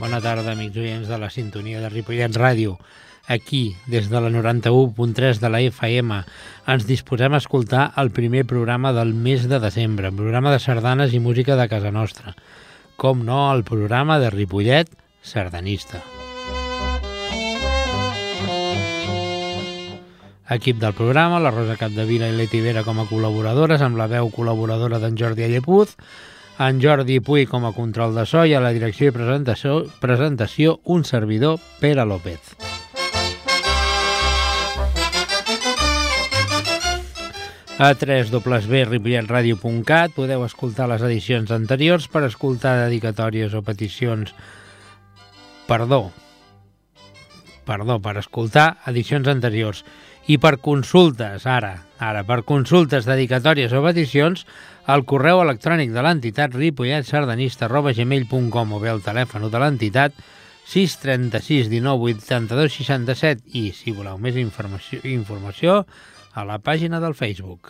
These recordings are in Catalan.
Bona tarda, amics oients de la sintonia de Ripollet Ràdio. Aquí, des de la 91.3 de la FM, ens disposem a escoltar el primer programa del mes de desembre, programa de sardanes i música de casa nostra. Com no, el programa de Ripollet Sardanista. Equip del programa, la Rosa Capdevila i Leti Vera com a col·laboradores, amb la veu col·laboradora d'en Jordi Allepuz, en Jordi Puy com a control de so i a la direcció i presentació un servidor, Pere López. A www.ripolletradio.cat podeu escoltar les edicions anteriors per escoltar dedicatòries o peticions. Per escoltar edicions anteriors. I per consultes, per consultes, dedicatòries o peticions, el correu electrònic de l'entitat ripolletsardanista@gmail.com o bé el telèfon de l'entitat 636 19 82 67 i, si voleu més informació, a la pàgina del Facebook.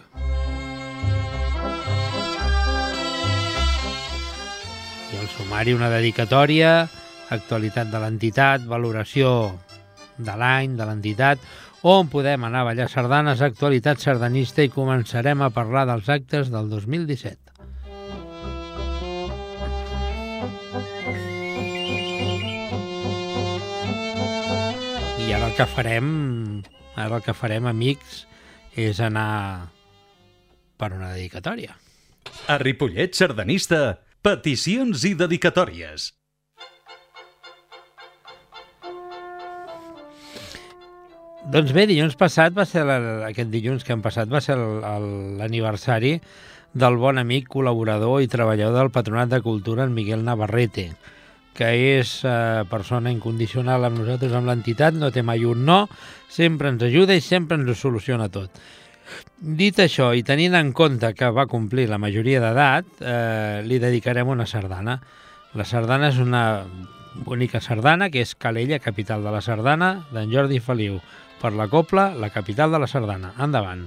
I el sumari, una dedicatòria, actualitat de l'entitat, valoració de l'any de l'entitat, on podem anar a ballar sardanes, actualitat sardanista, i començarem a parlar dels actes del 2017. I ara el que farem, amics, és anar per una dedicatòria. A Ripollet Sardanista, peticions i dedicatòries. Doncs bé, aquest dilluns que hem passat va ser l'aniversari del bon amic, col·laborador i treballador del Patronat de Cultura, en Miguel Navarrete, que és persona incondicional amb nosaltres, amb l'entitat, no té mai un no, sempre ens ajuda i sempre ens ho soluciona tot. Dit això, i tenint en compte que va complir la majoria d'edat, li dedicarem una sardana. La sardana és una bonica sardana, que és Calella, capital de la sardana, d'en Jordi Feliu, per la copla, la capital de la sardana. Endavant.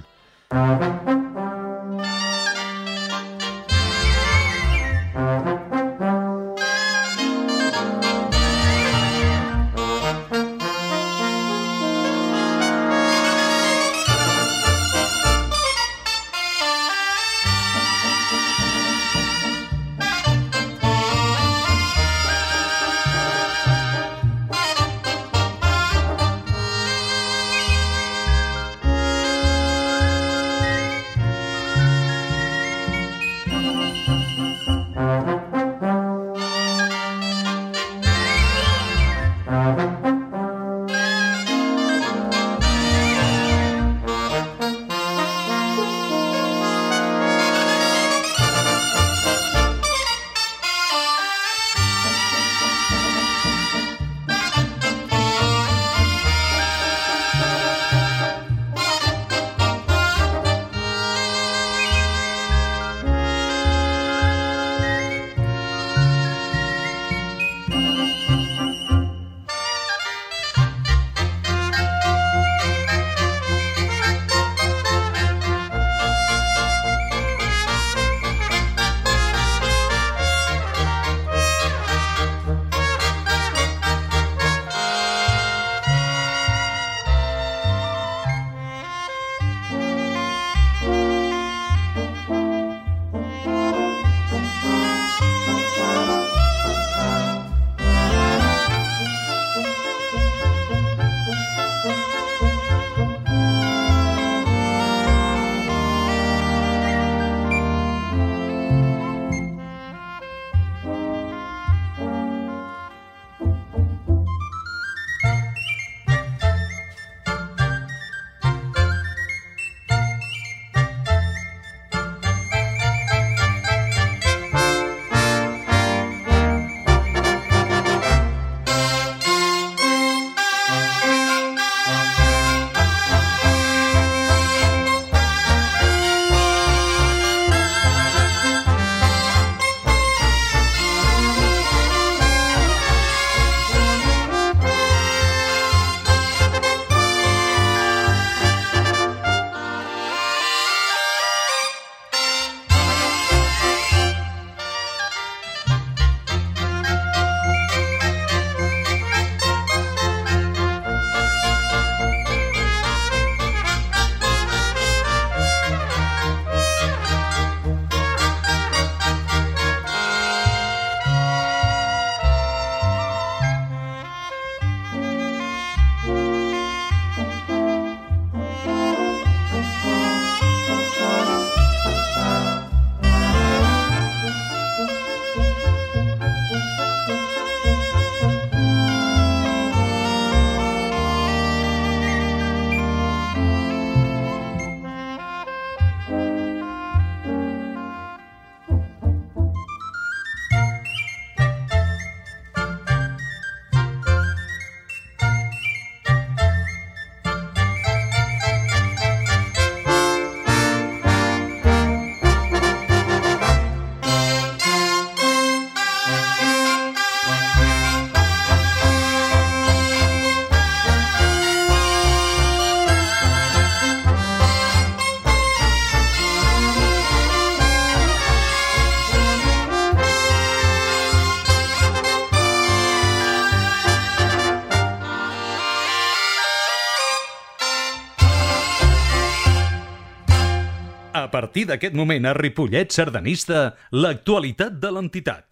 A partir d'aquest moment a Ripollet Sardanista, l'actualitat de l'entitat.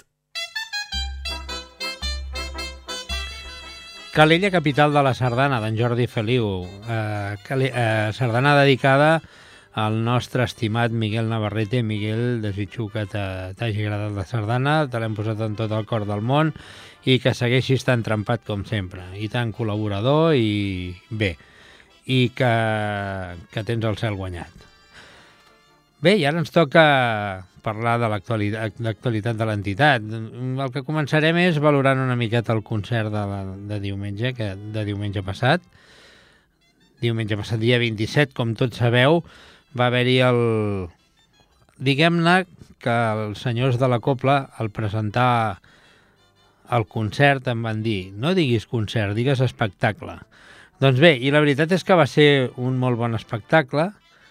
Calella, capital de la sardana, d'en Jordi Feliu. Sardana dedicada al nostre estimat Miguel Navarrete. Miguel, desitjo que t'hagi agradat la sardana, te l'hem posat en tot el cor del món i que segueixis tan trempat com sempre, i tan col·laborador i bé, i que tens el cel guanyat. Bé, i ara ens toca parlar de l'actualitat de l'entitat. El que començarem és valorant una miqueta el concert de diumenge passat. Diumenge passat, dia 27, com tots sabeu, va haver-hi diguem-ne que els senyors de la Copla, al presentar el concert, em van dir: no diguis concert, digues espectacle. Doncs bé, i la veritat és que va ser un molt bon espectacle,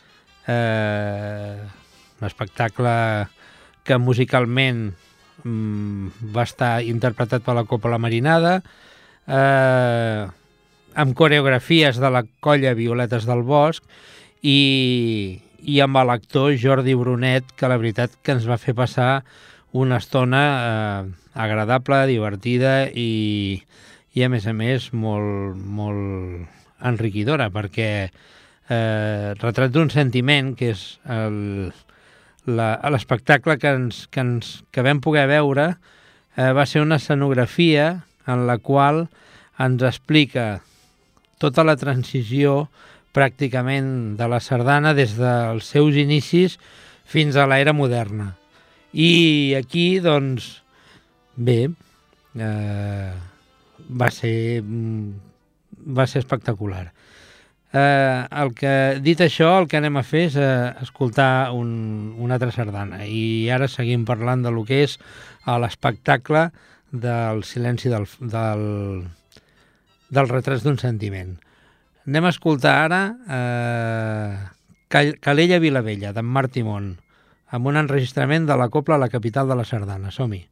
un espectacle que musicalment va estar interpretat per la Copla Marinada, amb coreografies de la colla Violetes del Bosc i amb l'actor Jordi Brunet, que la veritat que ens va fer passar una estona agradable, divertida i a més, molt enriquidora, perquè Retrat d'un sentiment, que és l'espectacle que vam poder veure, va ser una escenografia en la qual ens explica tota la transició pràcticament de la sardana des dels seus inicis fins a l'era moderna. I aquí, doncs, bé, va ser espectacular. Dit això, el que anem a fer és escoltar una altra sardana, i ara seguim parlant de lo que és l'espectacle del silenci del Retrats d'un sentiment. Anem a escoltar ara Calella Vilavella, d'en Marc Timón, amb un enregistrament de la Copla a la capital de la sardana. Som-hi!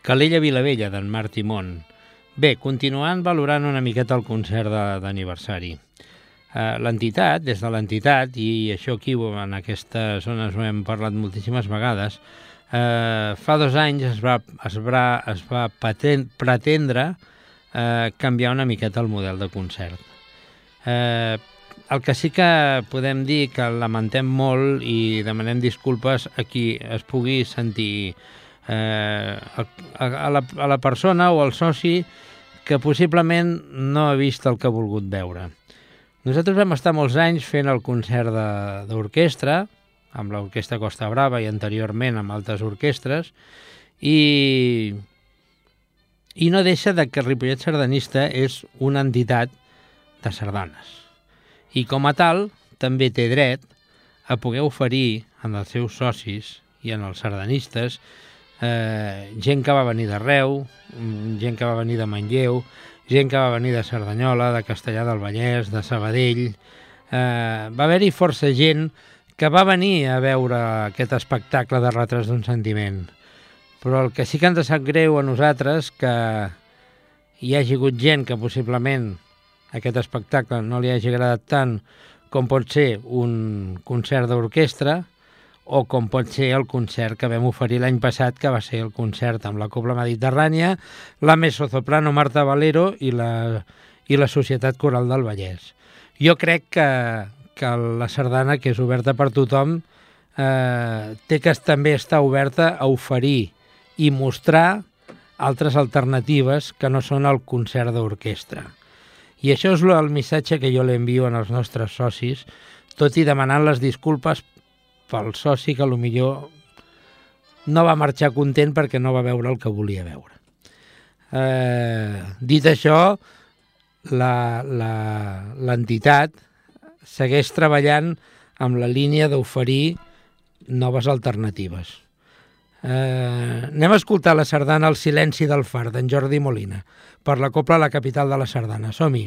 Calella Vilavella, d'en Martí Mont. Bé, continuant valorant una miqueta el concert d'aniversari. L'entitat, des de l'entitat, i això aquí en aquestes zones ho hem parlat moltíssimes vegades, fa 2 anys es va pretendre canviar una miqueta el model de concert. El que sí que podem dir que lamentem molt i demanem disculpes a qui es pugui sentir a la persona o al soci que possiblement no ha vist el que ha volgut veure. Nosaltres vam estar molts anys fent el concert d'orquestra, amb l'Orquestra Costa Brava i anteriorment amb altres orquestres, i no deixa de que Ripollet Sardanista és una entitat de sardanes. I com a tal, també té dret a poder oferir en els seus socis i en els sardanistes gent que va venir d'arreu, gent que va venir de Manlleu, gent que va venir de Cerdanyola, de Castellar del Vallès, de Sabadell. Va haver-hi força gent que va venir a veure aquest espectacle de Retrats d'un sentiment. Però el que sí que ens sap greu a nosaltres que hi hagi hagut gent que possiblement aquest espectacle no li hagi agradat tant com pot ser un concert d'orquestra o com pot ser el concert que vam oferir l'any passat, que va ser el concert amb la Cobla Mediterrània, la mezzosoprano Marta Valero i la Societat Coral del Vallès. Jo crec que la sardana, que és oberta per tothom, té que també estar oberta a oferir i mostrar altres alternatives que no són el concert d'orquestra. I això és el missatge que jo l'envio als nostres socis, tot i demanant les disculpes pel soci que potser no va marxar content perquè no va veure el que volia veure. Dit això, l'entitat segueix treballant amb la línia d'oferir noves alternatives. Anem a escoltar la sardana El silenci del far, d'en Jordi Molina, per la Cobla La Capital de la Sardana. Som-hi!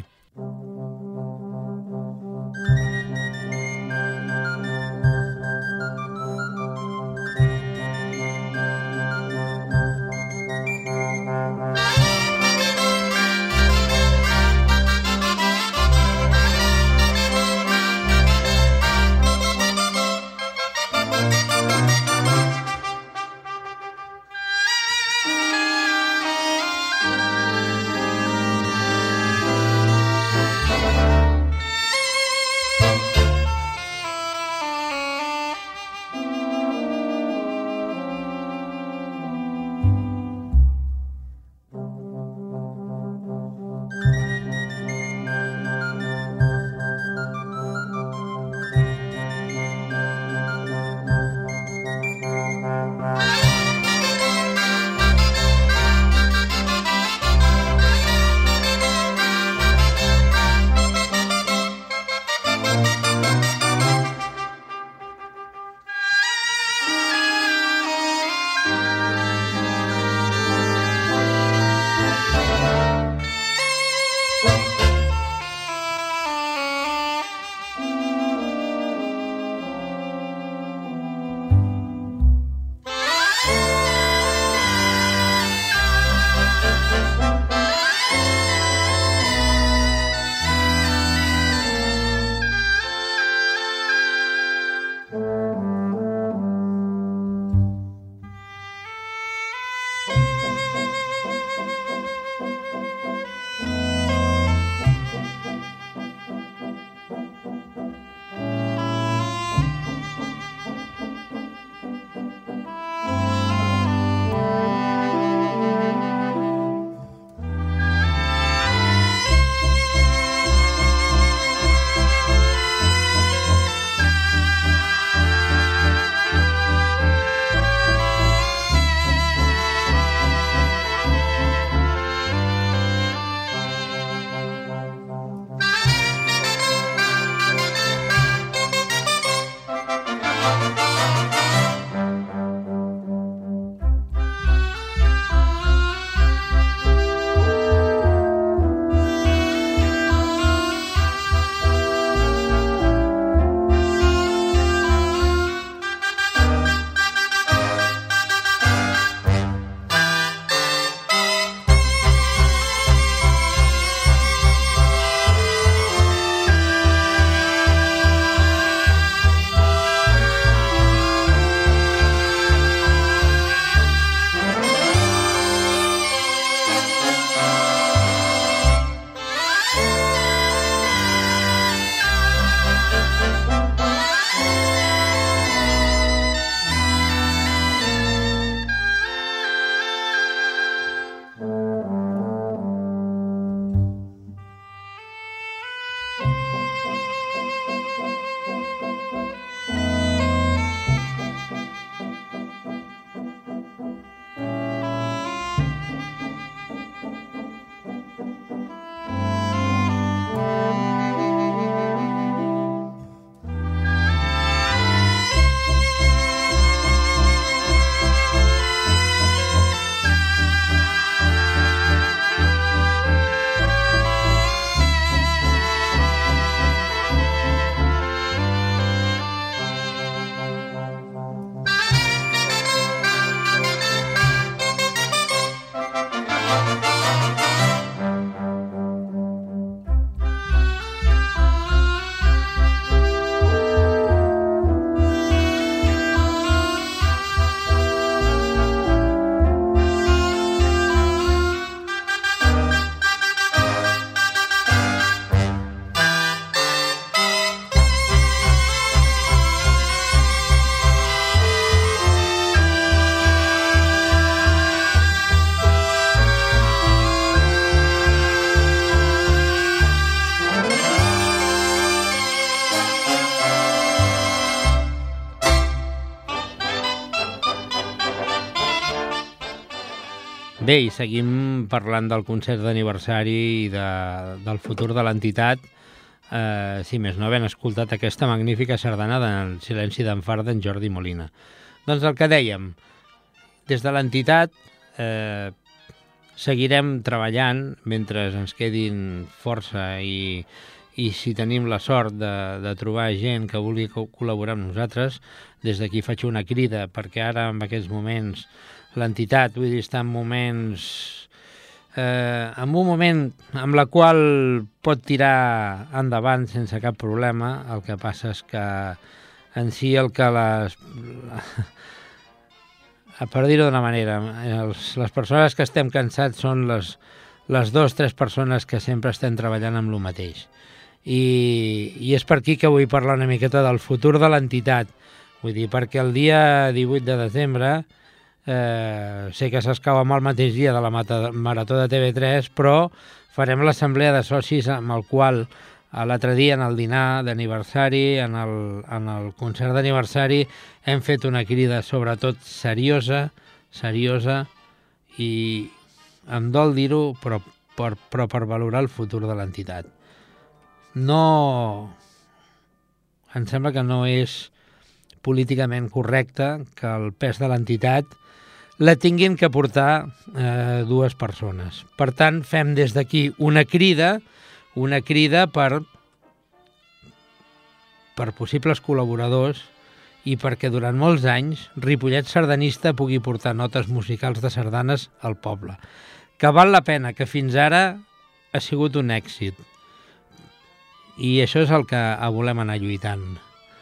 Bé, i seguim parlant del concert d'aniversari i del futur de l'entitat, si més no havent escoltat aquesta magnífica sardana del Silenci d'en Far d'en Jordi Molina. Doncs el que dèiem, des de l'entitat seguirem treballant mentre ens quedin força i si tenim la sort de trobar gent que vulgui col·laborar amb nosaltres. Des d'aquí faig una crida perquè ara en aquests moments l'entitat, vull dir, està en moments... en un moment amb la qual pot tirar endavant sense cap problema. El que passa és que en si el que per dir-ho d'una manera, les persones que estem cansats són les 2 o 3 persones que sempre estem treballant amb el mateix. I és per aquí que vull parlar una miqueta del futur de l'entitat. Vull dir, perquè el dia 18 de desembre sé que s'escau amb el mateix dia de la Marató de TV3, però farem l'assemblea de socis amb el qual l'altre dia en el dinar d'aniversari, en el concert d'aniversari, hem fet una crida sobretot seriosa i em dol dir-ho, però per valorar el futur de l'entitat. No... Em sembla que no és políticament correcte que el pes de l'entitat la tinguin que portar 2 persones. Per tant, fem des d'aquí una crida per possibles col·laboradors i perquè durant molts anys Ripollet Sardanista pugui portar notes musicals de sardanes al poble. Que val la pena, que fins ara ha sigut un èxit. I això és el que volem anar lluitant.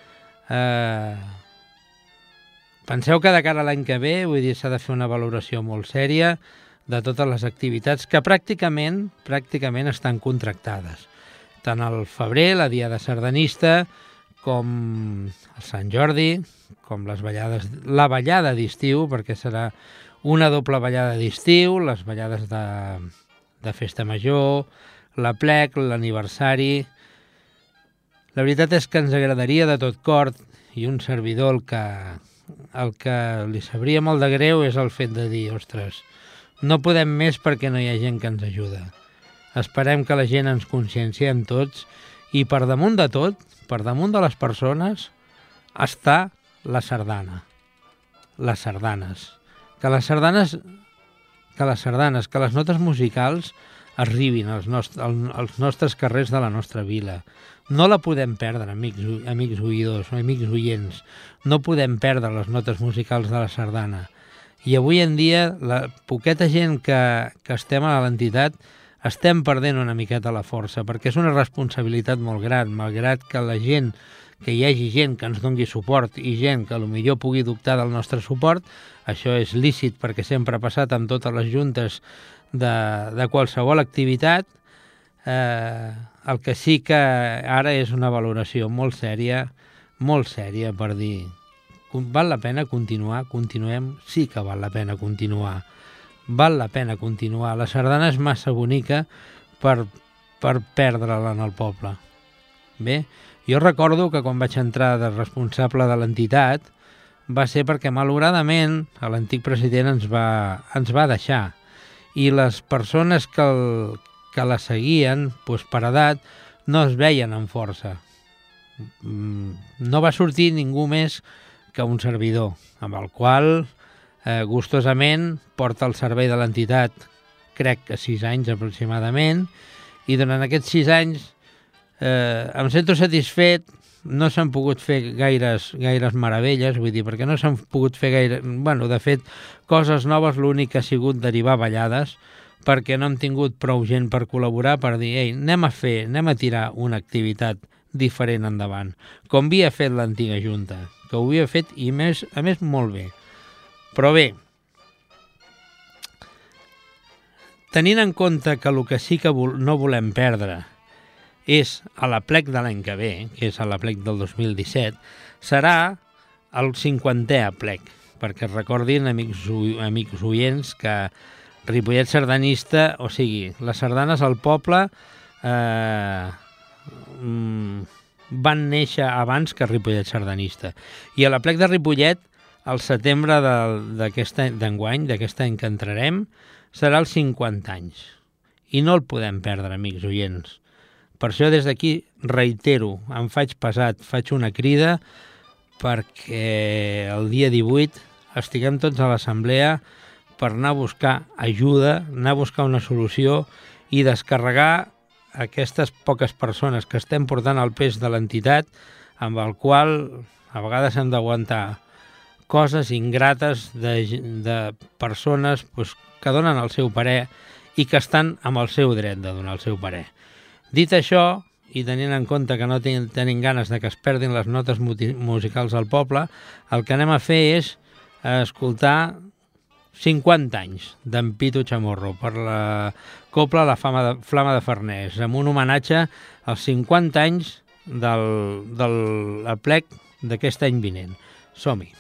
Penseu que de cara a l'any que ve, vull dir, s'ha de fer una valoració molt sèria de totes les activitats que pràcticament estan contractades. Tant al febrer, la Diada Sardanista, com el Sant Jordi, com la ballada d'estiu, perquè serà una doble ballada d'estiu, les ballades de Festa Major, l'aplec, l'aniversari... La veritat és que ens agradaria de tot cor, i un servidor el que li sabria molt de greu és el fet de dir, ostres, no podem més perquè no hi ha gent que ens ajuda. Esperem que la gent ens conscienciem tots i per damunt de tot, per damunt de les persones, està la sardana. Les sardanes. Que les notes musicals arribin als nostres carrers de la nostra vila. No la podem perdre, amics oïdors o amics oients. No podem perdre les notes musicals de la sardana. I avui en dia, la poqueta gent que estem a l'entitat estem perdent una miqueta la força, perquè és una responsabilitat molt gran, malgrat que que hi hagi gent que ens doni suport i gent que potser pugui dubtar del nostre suport. Això és lícit perquè sempre ha passat amb totes les juntes de qualsevol activitat. El que sí que ara és una valoració molt sèria per dir val la pena continuar, continuem, sí que val la pena continuar. Val la pena continuar. La sardana és massa bonica per perdre-la en el poble. Bé, jo recordo que quan vaig entrar de responsable de l'entitat va ser perquè malauradament l'antic president ens va deixar i les persones que la seguien, doncs per edat, no es veien amb força. No va sortir ningú més que un servidor, amb el qual gustosament porta el servei de l'entitat, crec que 6 anys aproximadament, i durant aquests 6 anys em sento satisfet. No s'han pogut fer gaires meravelles, vull dir, perquè no s'han pogut fer gaire... Bueno, de fet, coses noves, l'únic que ha sigut derivar ballades, perquè no hem tingut prou gent per col·laborar, per dir, ei, anem a tirar una activitat diferent endavant, com havia fet l'antiga Junta, que ho havia fet i a més molt bé. Però bé, tenint en compte que el que sí que no volem perdre és a l'aplec de l'any que ve, que és a l'aplec del 2017, serà el 50è aplec, perquè recordin, amics oients, que Ripollet Sardanista, o sigui, les sardanes al poble van néixer abans que Ripollet Sardanista. I a l'aplec de Ripollet al setembre d'enguany, d'aquest any que entrarem, serà els 50 anys. I no el podem perdre, amics oients. Per això des d'aquí reitero, em faig pesat, faig una crida perquè el dia 18 estiguem tots a l'assemblea per anar a buscar ajuda, anar a buscar una solució i descarregar aquestes poques persones que estem portant el pes de l'entitat, amb el qual a vegades hem d'aguantar coses ingrates de persones que donen el seu parer i que estan amb el seu dret de donar el seu parer. Dit això, i tenint en compte que no tenim ganes de que es perdin les notes musicals al poble, el que anem a fer és escoltar 50 anys d'en Pitu Chamorro per la copla La Flama de Farners, amb un homenatge als 50 anys del aplec d'aquest any vinent. Som-hi!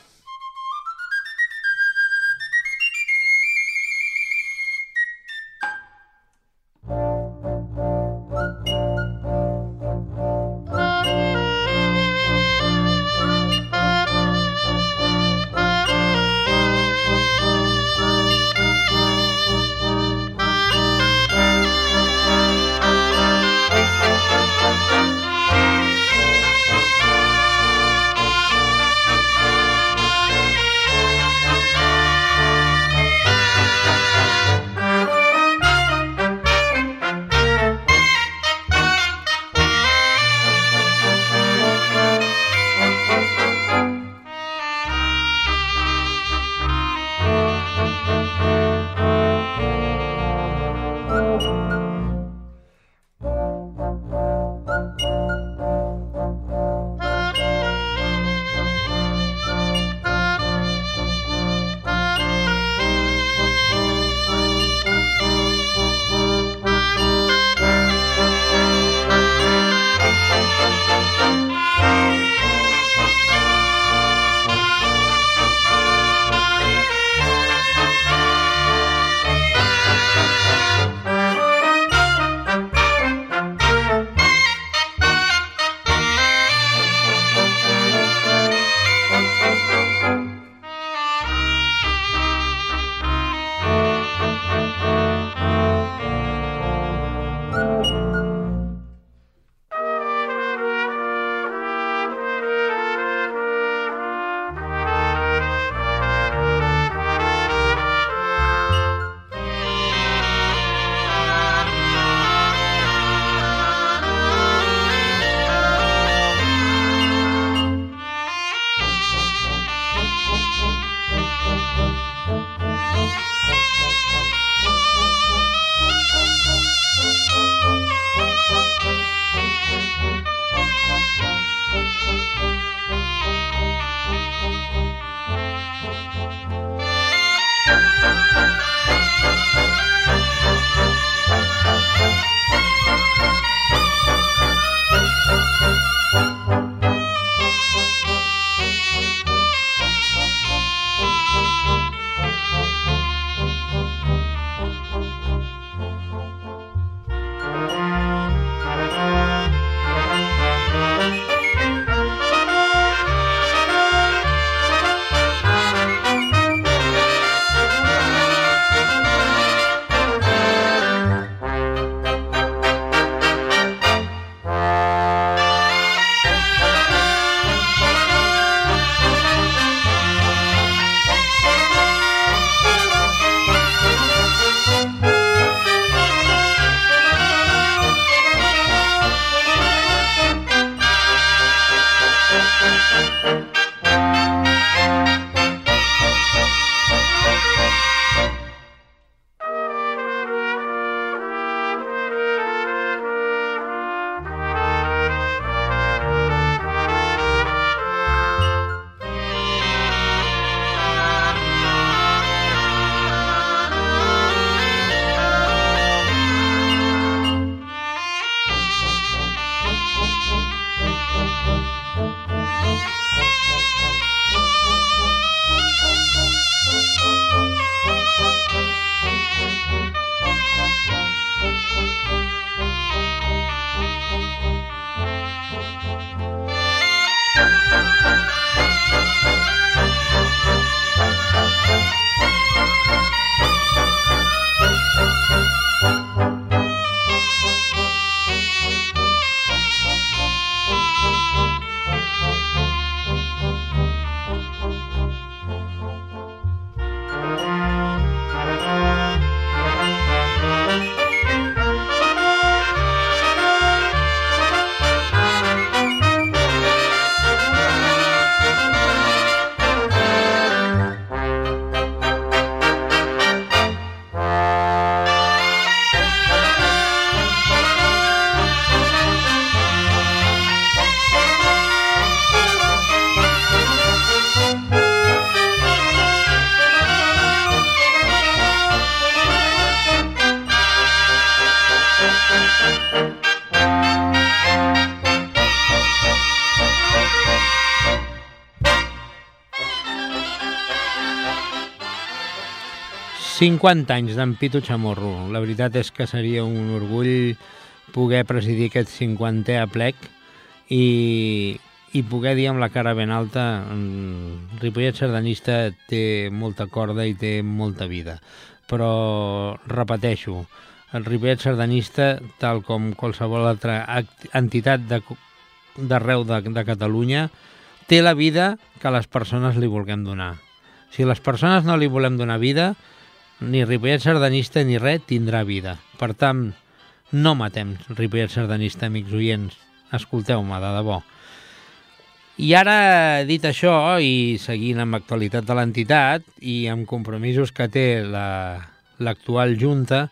50 anys d'en Pitu Chamorro. La veritat és que seria un orgull poder presidir aquest 50è aplec i poder dir amb la cara ben alta Ripollet sardanista té molta corda i té molta vida. Però, repeteixo, el Ripollet sardanista, tal com qualsevol altra entitat d'arreu de Catalunya, té la vida que les persones li vulguem donar. Si les persones no li volem donar vida, ni Ripollet sardanista ni res tindrà vida. Per tant, no matem Ripollet sardanista, amics oients. Escolteu-me, de debò. I ara, dit això, i seguint amb l'actualitat de l'entitat i amb compromisos que té l'actual Junta,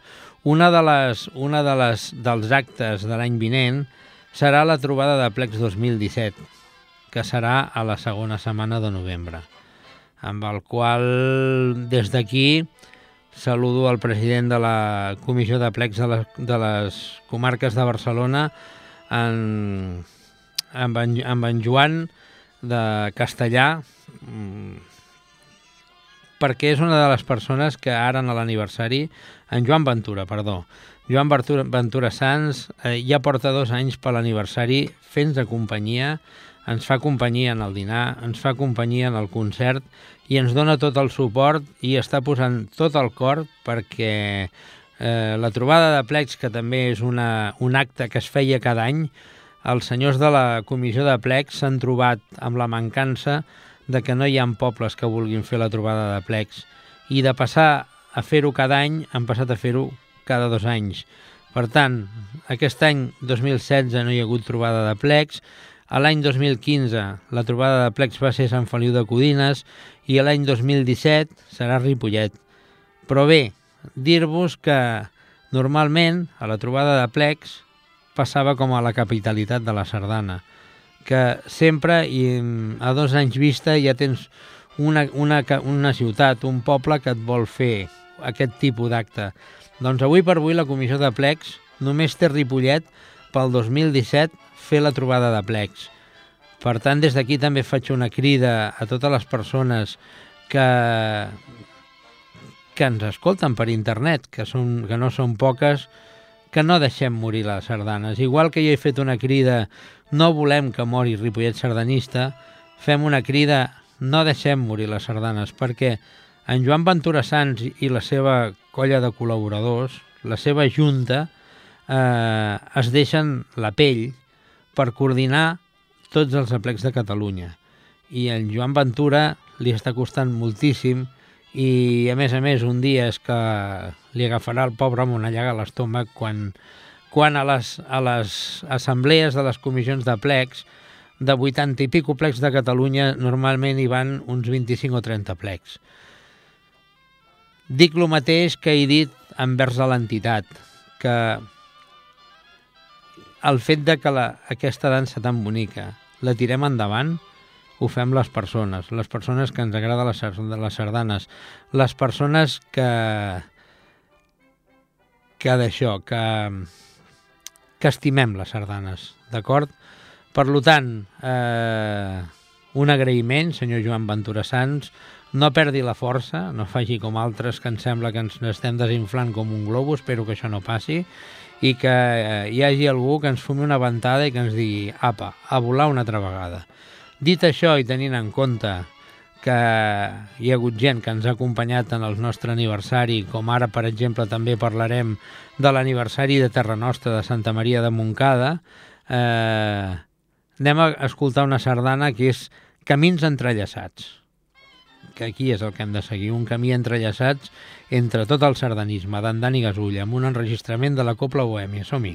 dels actes de l'any vinent serà la trobada de plecs 2017, que serà a la segona setmana de novembre, amb el qual, des d'aquí, saludo el president de la Comissió de Plecs de les comarques de Barcelona, amb en Joan de Castellà, perquè és una de les persones que ara en l'aniversari, en Joan Ventura Sans, ja porta 2 anys per l'aniversari fent de companyia, ens fa companyia en el dinar, ens fa companyia en el concert i ens dona tot el suport i està posant tot el cor perquè la trobada de plecs, que també és un acte que es feia cada any, els senyors de la comissió de plecs s'han trobat amb la mancança de que no hi ha pobles que vulguin fer la trobada de plecs i de passar a fer-ho cada any han passat a fer-ho cada 2 anys. Per tant, aquest any 2016 no hi ha hagut trobada de plecs, a l'any 2015 la trobada de plecs va ser Sant Feliu de Codines i l'any 2017 serà Ripollet. Però bé, dir-vos que normalment a la trobada de plecs passava com a la capitalitat de la sardana, que sempre, i a 2 anys vista, ja tens una ciutat, un poble que et vol fer aquest tipus d'acte. Doncs avui per avui la comissió de plecs només té Ripollet pel 2017 fer la trobada de plecs. Per tant, des d'aquí també faig una crida a totes les persones que ens escolten per internet, que no són poques, que no deixem morir les sardanes. Igual que jo he fet una crida no volem que mori Ripollet sardanista, fem una crida no deixem morir les sardanes, perquè en Joan Ventura Sans i la seva colla de col·laboradors, la seva junta, es deixen la pell per coordinar tots els aplecs de Catalunya. I en Joan Ventura li està costant moltíssim i, a més, un dia és que li agafarà el pobre home una llaga a l'estómac quan a les assemblees de les comissions de plecs, de 80 i pico plecs de Catalunya, normalment hi van uns 25 o 30 plecs. Dic el mateix que he dit envers a l'entitat, que el fet de que aquesta dansa tan bonica la tirem endavant, ho fem les persones que ens agrada les sardanes, les persones que estimem les sardanes, d'acord? Per tant, un agraïment, senyor Joan Ventura Sans, no perdi la força, no faci com altres que ens sembla que ens estem desinflant com un globus, espero que això no passi, i que hi hagi algú que ens fumi una ventada i que ens digui, apa, a volar una altra vegada. Dit això i tenint en compte que hi ha hagut gent que ens ha acompanyat en el nostre aniversari, com ara, per exemple, també parlarem de l'aniversari de Terra Nostra de Santa Maria de Montcada, anem a escoltar una sardana que és Camins entrellaçats, que aquí és el que hem de seguir, un camí entrellaçats entre tot el sardanisme, d'en Dani Gasulla, amb un enregistrament de la Copla Bohèmia. Som-hi!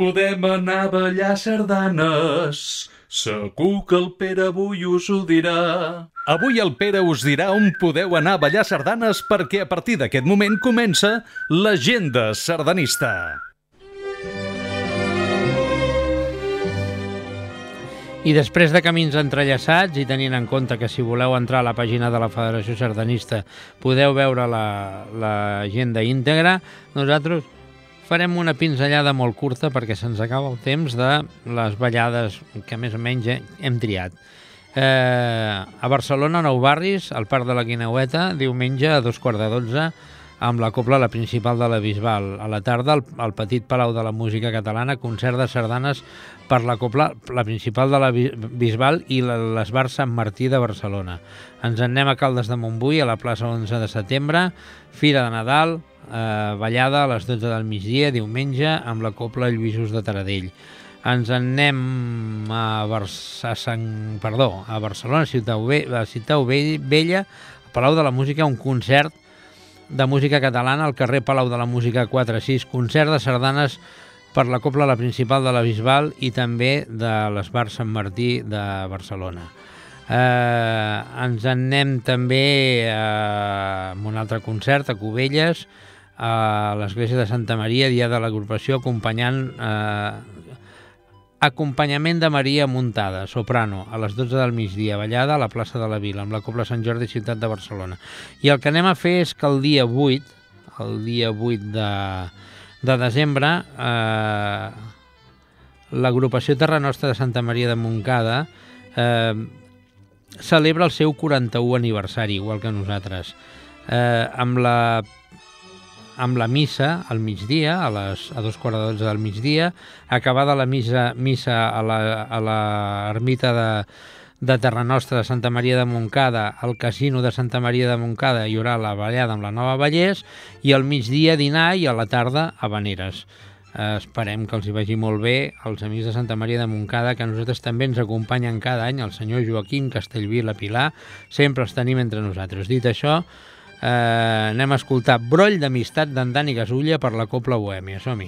podem anar a ballar sardanes. Segur que el Pere avui us ho dirà. Avui el Pere us dirà on podeu anar a ballar sardanes perquè a partir d'aquest moment comença l'agenda sardanista. I després de camins entrellaçats i tenint en compte que si voleu entrar a la pàgina de la Federació Sardanista podeu veure l'agenda íntegra, nosaltres farem una pinzellada molt curta perquè se'ns acaba el temps de les ballades que més o menys hem triat. A Barcelona, Nou Barris, al Parc de la Guineueta, diumenge a 2:15, amb la Cobla La Principal de la Bisbal. A la tarda, al Petit Palau de la Música Catalana, concert de sardanes per la Cobla La Principal de la Bisbal i l'Esbar Sant Martí de Barcelona. Ens en anem a Caldes de Montbui, a la plaça 11 de setembre, Fira de Nadal, ballada a les 12 del migdia, diumenge, amb la Cobla Lluïsos de Taradell. Ens en anem a Barcelona, Ciutat Vella, a Palau de la Música, un concert de música catalana al carrer Palau de la Música 4-6, concert de sardanes per la Cobla La Principal de la Bisbal i també de l'Esbar Sant Martí de Barcelona. Ens en anem també a un altre concert a Cubelles, a l'església de Santa Maria, dia de l'agrupació, acompanyament de Maria Muntada, soprano, a les 12 del migdia, ballada a la plaça de la Vila, amb la Cobla Sant Jordi, ciutat de Barcelona. I el que anem a fer és que el dia 8 de desembre, l'agrupació Terra Nostra de Santa Maria de Montcada celebra el seu 41 aniversari, igual que nosaltres, amb la missa al migdia, a 2:15 del migdia, acabada la missa a l'ermita de Terra Nostra de Santa Maria de Montcada, al casino de Santa Maria de Montcada hi haurà la ballada amb la Nova Vallès i al migdia dinar i a la tarda habaneres. Esperem que els hi vagi molt bé als amics de Santa Maria de Montcada, que a nosaltres també ens acompanyen cada any, el senyor Joaquim Castellví i la Pilar, sempre els tenim entre nosaltres. Dit això, anem a escoltar Broll d'amistat d'en Dani Gasulla per la Cobla Bohèmia. Som-hi.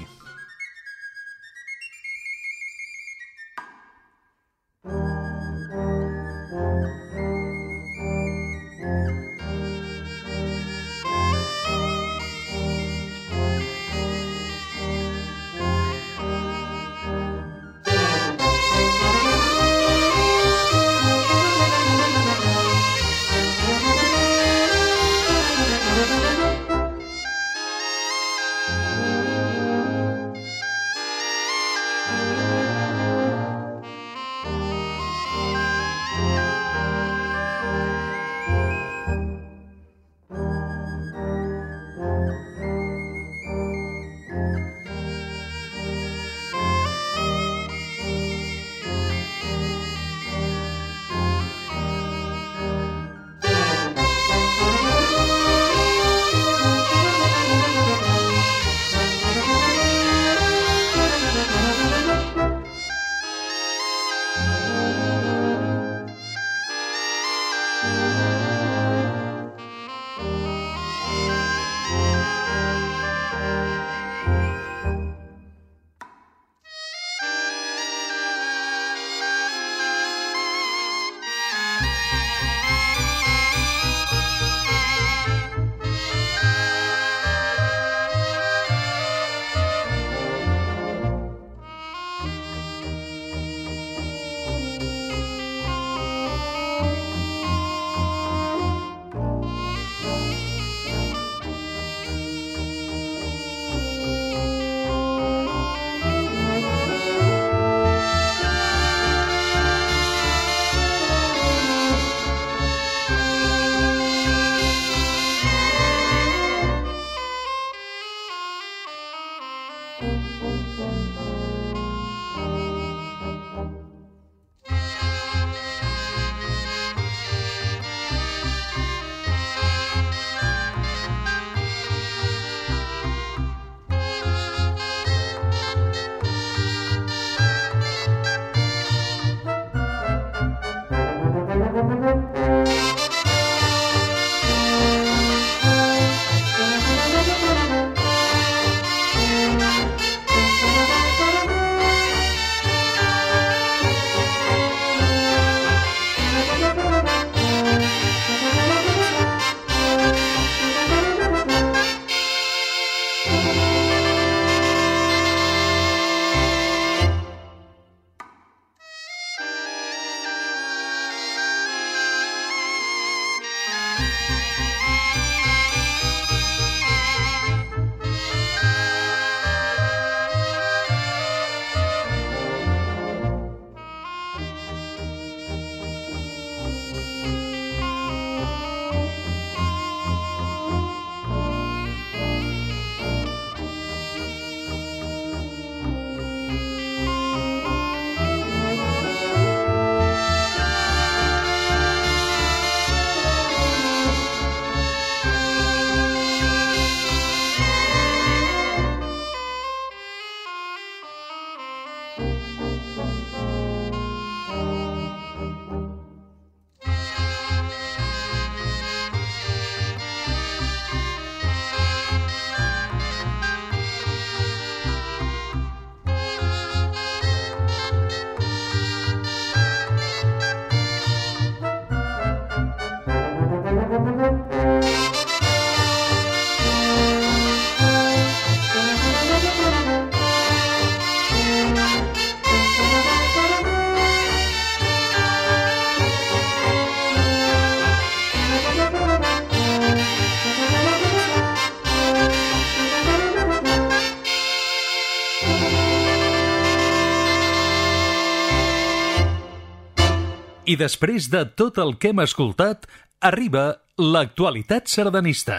I després de tot el que hem escoltat, arriba l'actualitat sardanista.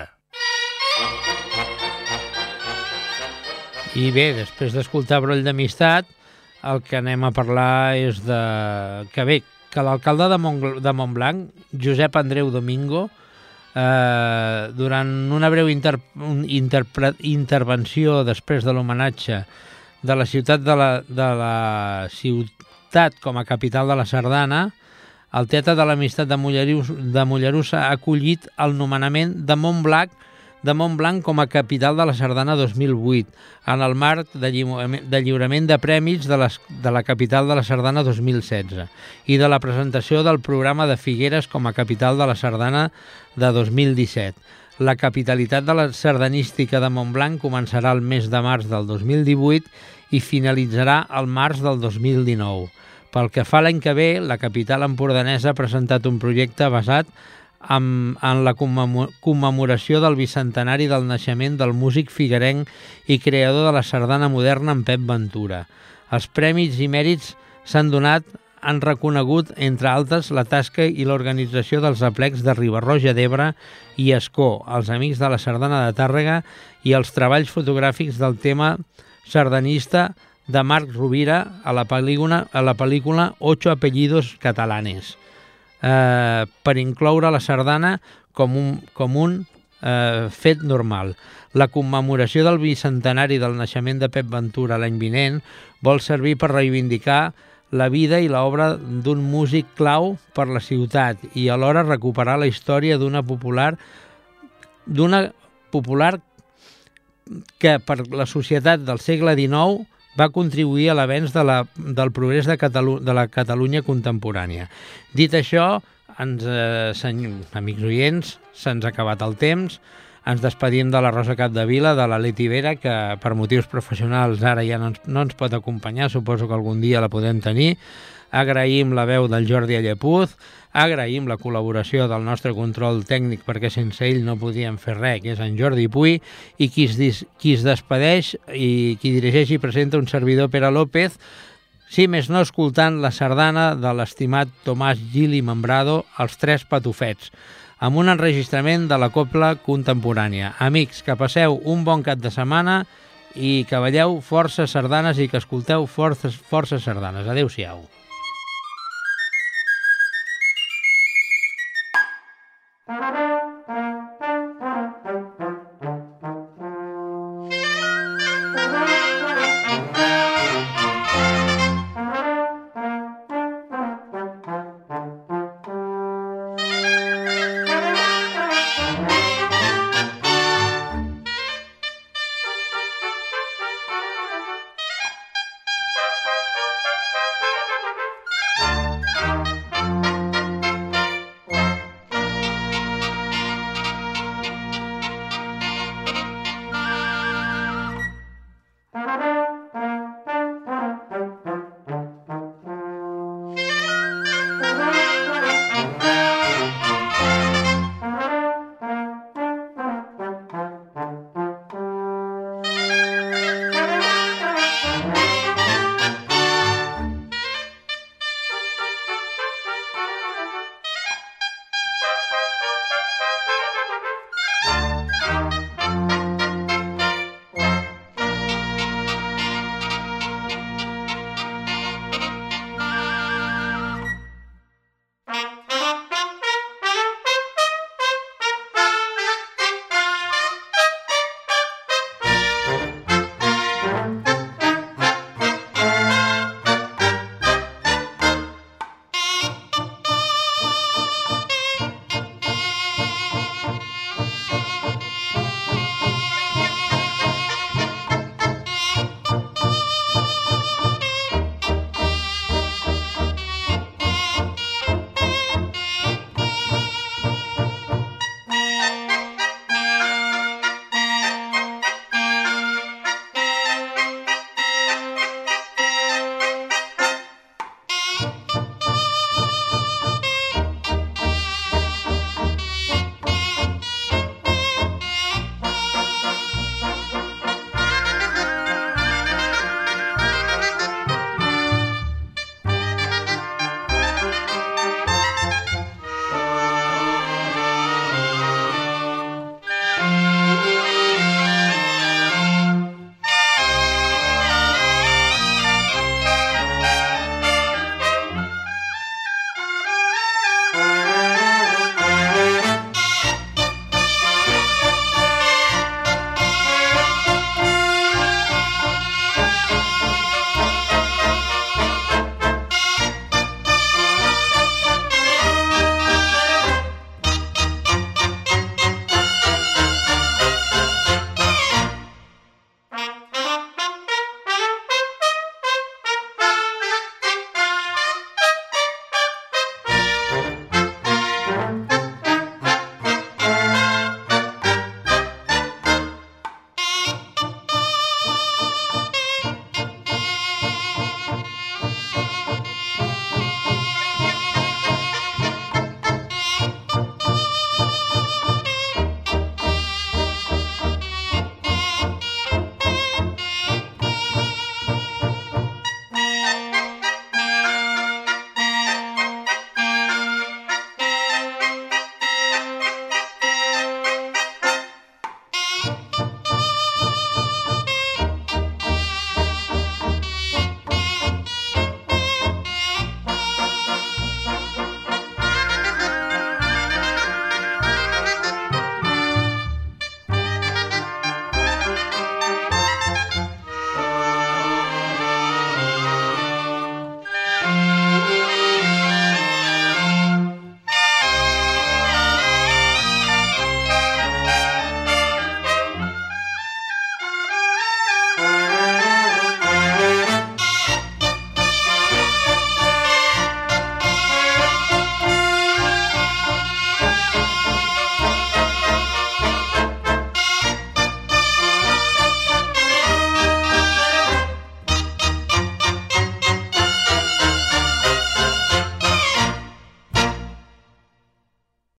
I bé, després d'escoltar Broll d'Amistat, el que anem a parlar és que l'alcalde de Montblanc, Josep Andreu Domingo, durant una breu intervenció després de l'homenatge de la ciutat com a capital de la Sardana, el Teatre de l'Amistat de Mollerussa ha acollit el nomenament de Montblanc com a capital de la Sardana 2008, en el marc de lliurament de premis de la capital de la Sardana 2016 i de la presentació del programa de Figueres com a capital de la Sardana de 2017. La capitalitat de la sardanística de Montblanc començarà el mes de març del 2018 i finalitzarà el març del 2019. Pel que fa l'any que ve, la capital empordanesa ha presentat un projecte basat en la commemoració del bicentenari del naixement del músic figuerenc i creador de la sardana moderna, en Pep Ventura. Els premis i mèrits han reconegut, entre altres, la tasca i l'organització dels aplecs de Riba-roja d'Ebre i Ascó, els Amics de la Sardana de Tàrrega i els treballs fotogràfics del tema sardanista de Marc Rovira a la pel·lícula Ocho apellidos catalanes, per incloure la sardana com un fet normal. La commemoració del bicentenari del naixement de Pep Ventura l'any vinent vol servir per reivindicar la vida i l'obra d'un músic clau per la ciutat i alhora recuperar la història d'una popular que per la societat del segle XIX va contribuir a l'avenç del progrés de la Catalunya contemporània. Dit això, amics oients, se'ns ha acabat el temps. Ens despedim de la Rosa Capdevila, de la Leti Vera, que per motius professionals ara ja no ens pot acompanyar, suposo que algun dia la podem tenir. Agraïm la veu del Jordi Allepuz, agraïm la col·laboració del nostre control tècnic, perquè sense ell no podíem fer res, que és en Jordi Puy, i qui es despedeix i qui dirigeix i presenta un servidor, Pere López, si més no escoltant la sardana de l'estimat Tomàs Gili Membrado, Els Tres Patufets, amb un enregistrament de la cobla contemporània. Amics, que passeu un bon cap de setmana i que balleu força sardanes i que escolteu força sardanes. Adéu-siau.